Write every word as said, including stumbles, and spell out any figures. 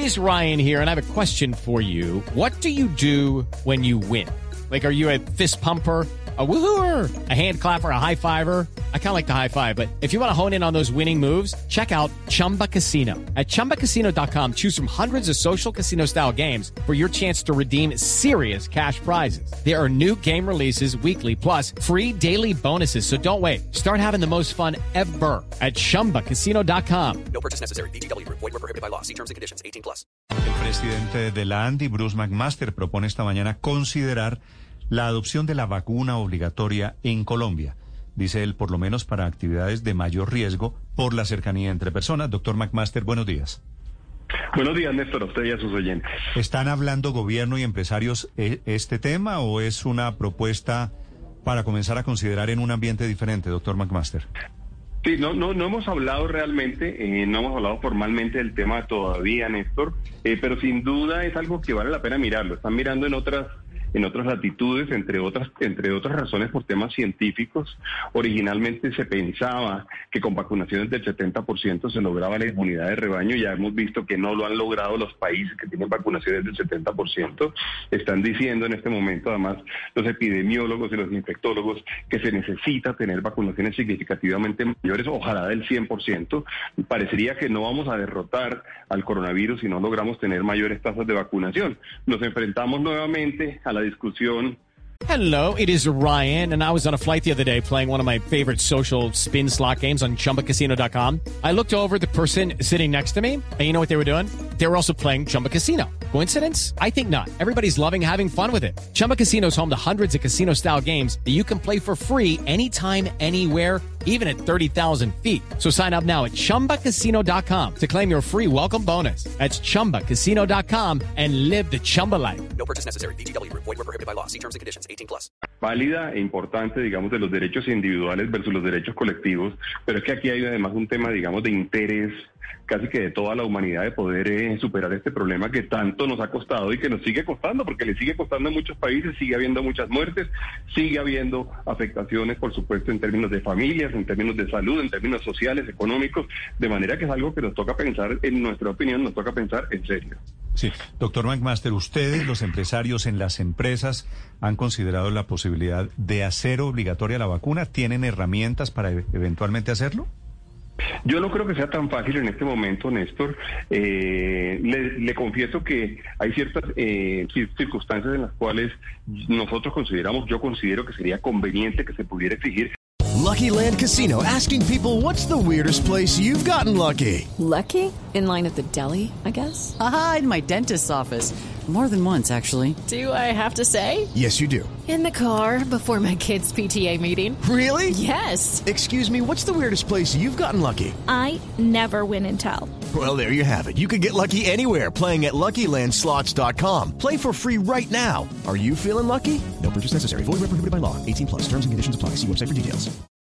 is Ryan here, and I have a question for you. What do you do when you win? Like, are you a fist pumper, a woohooer, a hand clapper, a high fiver? I kind of like the high five, but if you want to hone in on those winning moves, check out Chumba Casino. At chumba casino dot com, choose from hundreds of social casino style games for your chance to redeem serious cash prizes. There are new game releases weekly, plus free daily bonuses. So don't wait. Start having the most fun ever at chumba casino dot com. No purchase necessary. V G W Group. Void where prohibited by law. See terms and conditions. eighteen plus. El presidente de la ANDI, Bruce McMaster, propone esta mañana considerar la adopción de la vacuna obligatoria en Colombia. Dice él, por lo menos para actividades de mayor riesgo por la cercanía entre personas. Doctor McMaster, buenos días. Buenos días, Néstor, a usted y a sus oyentes. ¿Están hablando gobierno y empresarios este tema o es una propuesta para comenzar a considerar en un ambiente diferente, doctor McMaster? Sí, no, no, no hemos hablado realmente, eh, no hemos hablado formalmente del tema todavía, Néstor, eh, pero sin duda es algo que vale la pena mirarlo. Están mirando en otras en otras latitudes, entre otras entre otras razones por temas científicos. Originalmente se pensaba que con vacunaciones del setenta por ciento se lograba la inmunidad de rebaño. Ya hemos visto que no lo han logrado los países que tienen vacunaciones del setenta por ciento. Están diciendo en este momento, además, los epidemiólogos y los infectólogos, que se necesita tener vacunaciones significativamente mayores, ojalá del cien por ciento. Parecería que no vamos a derrotar al coronavirus si no logramos tener mayores tasas de vacunación. Nos enfrentamos nuevamente a la discusión. Hello, it is Ryan, and I was on a flight the other day playing one of my favorite social spin slot games on chumba casino dot com. I looked over at the person sitting next to me, and you know what they were doing? They were also playing Chumba Casino. Coincidence? I think not. Everybody's loving having fun with it. Chumba Casino is home to hundreds of casino-style games that you can play for free anytime, anywhere, even at thirty thousand feet. So sign up now at chumba casino dot com to claim your free welcome bonus. That's chumba casino dot com and live the Chumba life. No purchase necessary. V G W Group. Void where prohibited by law. See terms and conditions. eighteen plus. Válida e importante, digamos, de los derechos individuales versus los derechos colectivos, pero es que aquí hay además un tema, digamos, de interés casi que de toda la humanidad de poder eh, superar este problema que tanto nos ha costado y que nos sigue costando, porque le sigue costando en muchos países, sigue habiendo muchas muertes, sigue habiendo afectaciones, por supuesto, en términos de familias, en términos de salud, en términos sociales, económicos, de manera que es algo que nos toca pensar, en nuestra opinión, nos toca pensar en serio. Sí, doctor McMaster, ustedes, los empresarios en las empresas, han considerado la posibilidad de hacer obligatoria la vacuna. ¿Tienen herramientas para eventualmente hacerlo? Yo no creo que sea tan fácil en este momento, Néstor. Eh, le, le confieso que hay ciertas eh, circunstancias en las cuales nosotros consideramos, yo considero que sería conveniente que se pudiera exigir. Lucky Land Casino, asking people, what's the weirdest place you've gotten lucky? Lucky? In line at the deli, I guess? Aha, in my dentist's office. More than once, actually. Do I have to say? Yes, you do. In the car before my kids' P T A meeting. Really? Yes. Excuse me, what's the weirdest place you've gotten lucky? I never win and tell. Well, there you have it. You can get lucky anywhere, playing at lucky land slots dot com. Play for free right now. Are you feeling lucky? No purchase necessary. Void where prohibited by law. eighteen plus. Terms and conditions apply. See website for details.